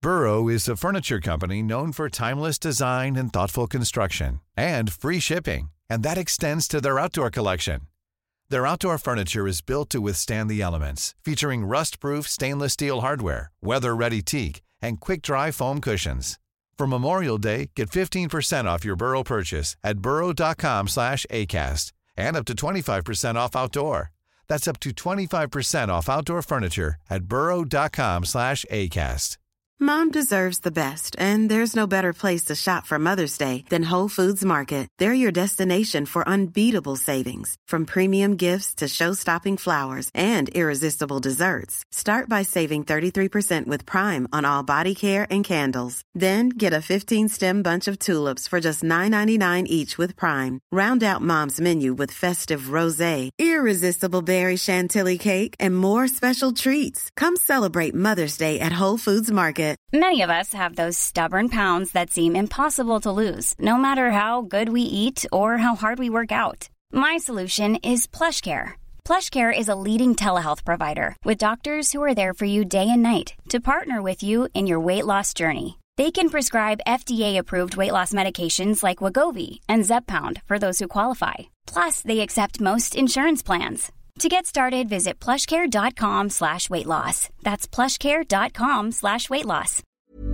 Burrow is a furniture company known for timeless design and thoughtful construction, and free shipping, and that extends to their outdoor collection. Their outdoor furniture is built to withstand the elements, featuring rust-proof stainless steel hardware, weather-ready teak, and quick-dry foam cushions. For Memorial Day, get 15% off your Burrow purchase at burrow.com/acast, and up to 25% off outdoor. That's up to 25% off outdoor furniture at burrow.com/acast. Mom deserves the best, and there's no better place to shop for Mother's Day than Whole Foods Market. They're your destination for unbeatable savings, from premium gifts to show-stopping flowers and irresistible desserts. Start by saving 33% with Prime on all body care and candles. Then get a 15-stem bunch of tulips for just $9.99 each with Prime. Round out Mom's menu with festive rosé, irresistible berry chantilly cake, and more special treats. Come celebrate Mother's Day at Whole Foods Market. Many of us have those stubborn pounds that seem impossible to lose, no matter how good we eat or how hard we work out. My solution is PlushCare. PlushCare is a leading telehealth provider with doctors who are there for you day and night to partner with you in your weight loss journey. They can prescribe FDA-approved weight loss medications like Wegovy and Zepbound for those who qualify. Plus, they accept most insurance plans. To get started, visit plushcare.com/weightloss. That's plushcare.com/weightloss.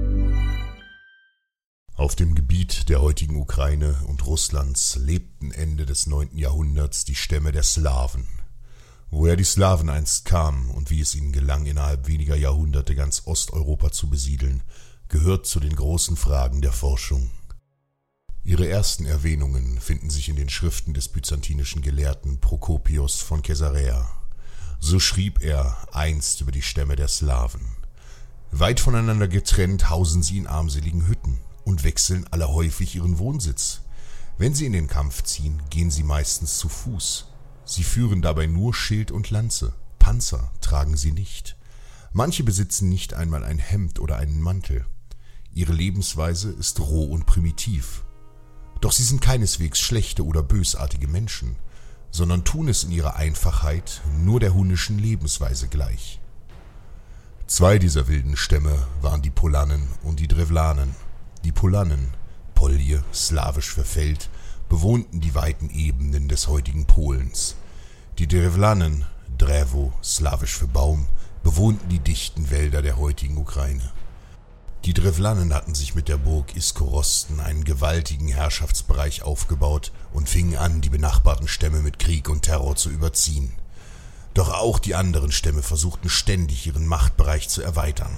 Auf dem Gebiet der heutigen Ukraine und Russlands lebten Ende des 9. Jahrhunderts die Stämme der Slawen. Woher die Slawen einst kamen und wie es ihnen gelang, innerhalb weniger Jahrhunderte ganz Osteuropa zu besiedeln, gehört zu den großen Fragen der Forschung. Ihre ersten Erwähnungen finden sich in den Schriften des byzantinischen Gelehrten Prokopios von Caesarea. So schrieb er einst über die Stämme der Slawen: Weit voneinander getrennt hausen sie in armseligen Hütten und wechseln alle häufig ihren Wohnsitz. Wenn sie in den Kampf ziehen, gehen sie meistens zu Fuß. Sie führen dabei nur Schild und Lanze, Panzer tragen sie nicht. Manche besitzen nicht einmal ein Hemd oder einen Mantel. Ihre Lebensweise ist roh und primitiv. Doch sie sind keineswegs schlechte oder bösartige Menschen, sondern tun es in ihrer Einfachheit nur der hunnischen Lebensweise gleich. Zwei dieser wilden Stämme waren die Polannen und die Drevlanen. Die Polannen, Polje, slawisch für Feld, bewohnten die weiten Ebenen des heutigen Polens. Die Drevlanen, Drevo, slawisch für Baum, bewohnten die dichten Wälder der heutigen Ukraine. Die Drevlanen hatten sich mit der Burg Iskorosten einen gewaltigen Herrschaftsbereich aufgebaut und fingen an, die benachbarten Stämme mit Krieg und Terror zu überziehen. Doch auch die anderen Stämme versuchten ständig, ihren Machtbereich zu erweitern.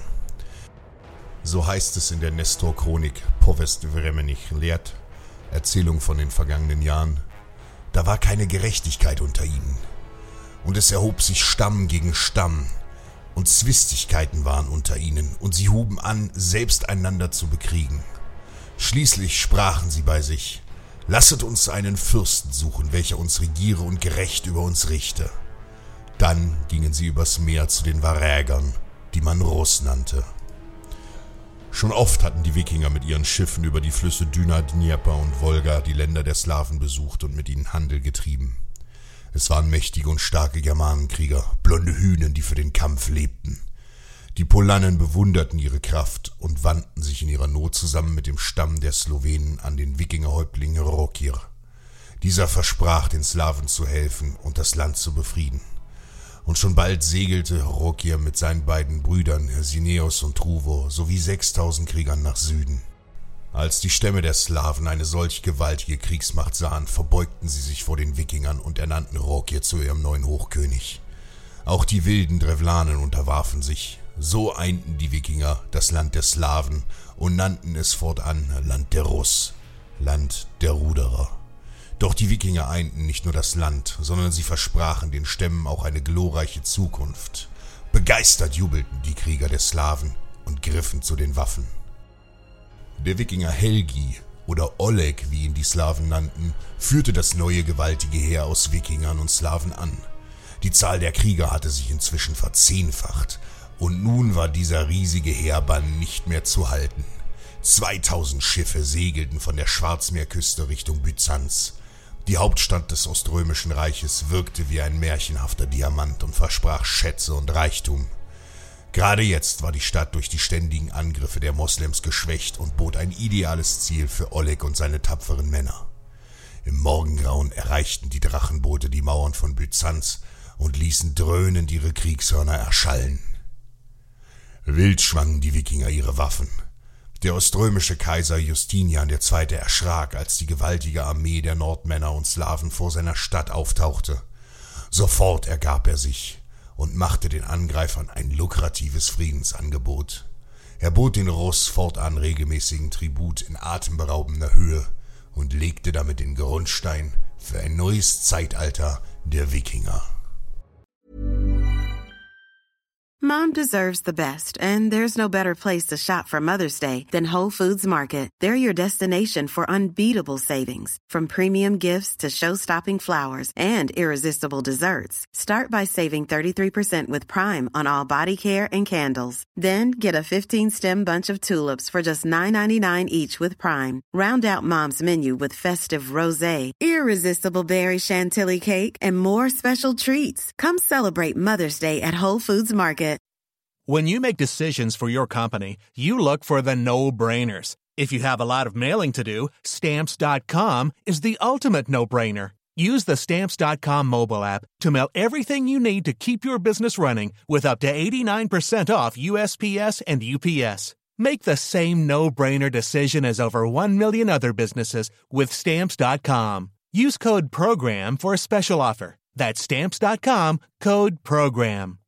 So heißt es in der Nestor-Chronik Povest Vremenich Liat, Erzählung von den vergangenen Jahren: Da war keine Gerechtigkeit unter ihnen. Und es erhob sich Stamm gegen Stamm, und Zwistigkeiten waren unter ihnen, und sie huben an, selbst einander zu bekriegen. Schließlich sprachen sie bei sich: Lasset uns einen Fürsten suchen, welcher uns regiere und gerecht über uns richte. Dann gingen sie übers Meer zu den Varägern, die man Russ nannte. Schon oft hatten die Wikinger mit ihren Schiffen über die Flüsse Düna, Dnieper und Wolga die Länder der Slawen besucht und mit ihnen Handel getrieben. Es waren mächtige und starke Germanenkrieger, blonde Hühnen, die für den Kampf lebten. Die Polannen bewunderten ihre Kraft und wandten sich in ihrer Not zusammen mit dem Stamm der Slowenen an den Wikingerhäuptling Rokir. Dieser versprach, den Slawen zu helfen und das Land zu befrieden. Und schon bald segelte Rokir mit seinen beiden Brüdern Sineos und Truvo sowie 6000 Kriegern nach Süden. Als die Stämme der Slawen eine solch gewaltige Kriegsmacht sahen, verbeugten sie sich vor den Wikingern und ernannten Rokir zu ihrem neuen Hochkönig. Auch die wilden Drevlanen unterwarfen sich. So einten die Wikinger das Land der Slawen und nannten es fortan Land der Russ, Land der Ruderer. Doch die Wikinger einten nicht nur das Land, sondern sie versprachen den Stämmen auch eine glorreiche Zukunft. Begeistert jubelten die Krieger der Slawen und griffen zu den Waffen. Der Wikinger Helgi oder Oleg, wie ihn die Slawen nannten, führte das neue gewaltige Heer aus Wikingern und Slawen an. Die Zahl der Krieger hatte sich inzwischen verzehnfacht und nun war dieser riesige Heerbann nicht mehr zu halten. 2000 Schiffe segelten von der Schwarzmeerküste Richtung Byzanz. Die Hauptstadt des Oströmischen Reiches wirkte wie ein märchenhafter Diamant und versprach Schätze und Reichtum. Gerade jetzt war die Stadt durch die ständigen Angriffe der Moslems geschwächt und bot ein ideales Ziel für Oleg und seine tapferen Männer. Im Morgengrauen erreichten die Drachenboote die Mauern von Byzanz und ließen dröhnend ihre Kriegshörner erschallen. Wild schwangen die Wikinger ihre Waffen. Der oströmische Kaiser Justinian II. Erschrak, als die gewaltige Armee der Nordmänner und Slawen vor seiner Stadt auftauchte. Sofort ergab er sich und machte den Angreifern ein lukratives Friedensangebot. Er bot den Russ fortan regelmäßigen Tribut in atemberaubender Höhe und legte damit den Grundstein für ein neues Zeitalter der Wikinger. Mom deserves the best, and there's no better place to shop for Mother's Day than Whole Foods Market. They're your destination for unbeatable savings, from premium gifts to show-stopping flowers and irresistible desserts. Start by saving 33% with Prime on all body care and candles. Then get a 15-stem bunch of tulips for just $9.99 each with Prime. Round out Mom's menu with festive rosé, irresistible berry chantilly cake, and more special treats. Come celebrate Mother's Day at Whole Foods Market. When you make decisions for your company, you look for the no-brainers. If you have a lot of mailing to do, Stamps.com is the ultimate no-brainer. Use the Stamps.com mobile app to mail everything you need to keep your business running with up to 89% off USPS and UPS. Make the same no-brainer decision as over 1 million other businesses with Stamps.com. Use code PROGRAM for a special offer. That's Stamps.com, code PROGRAM.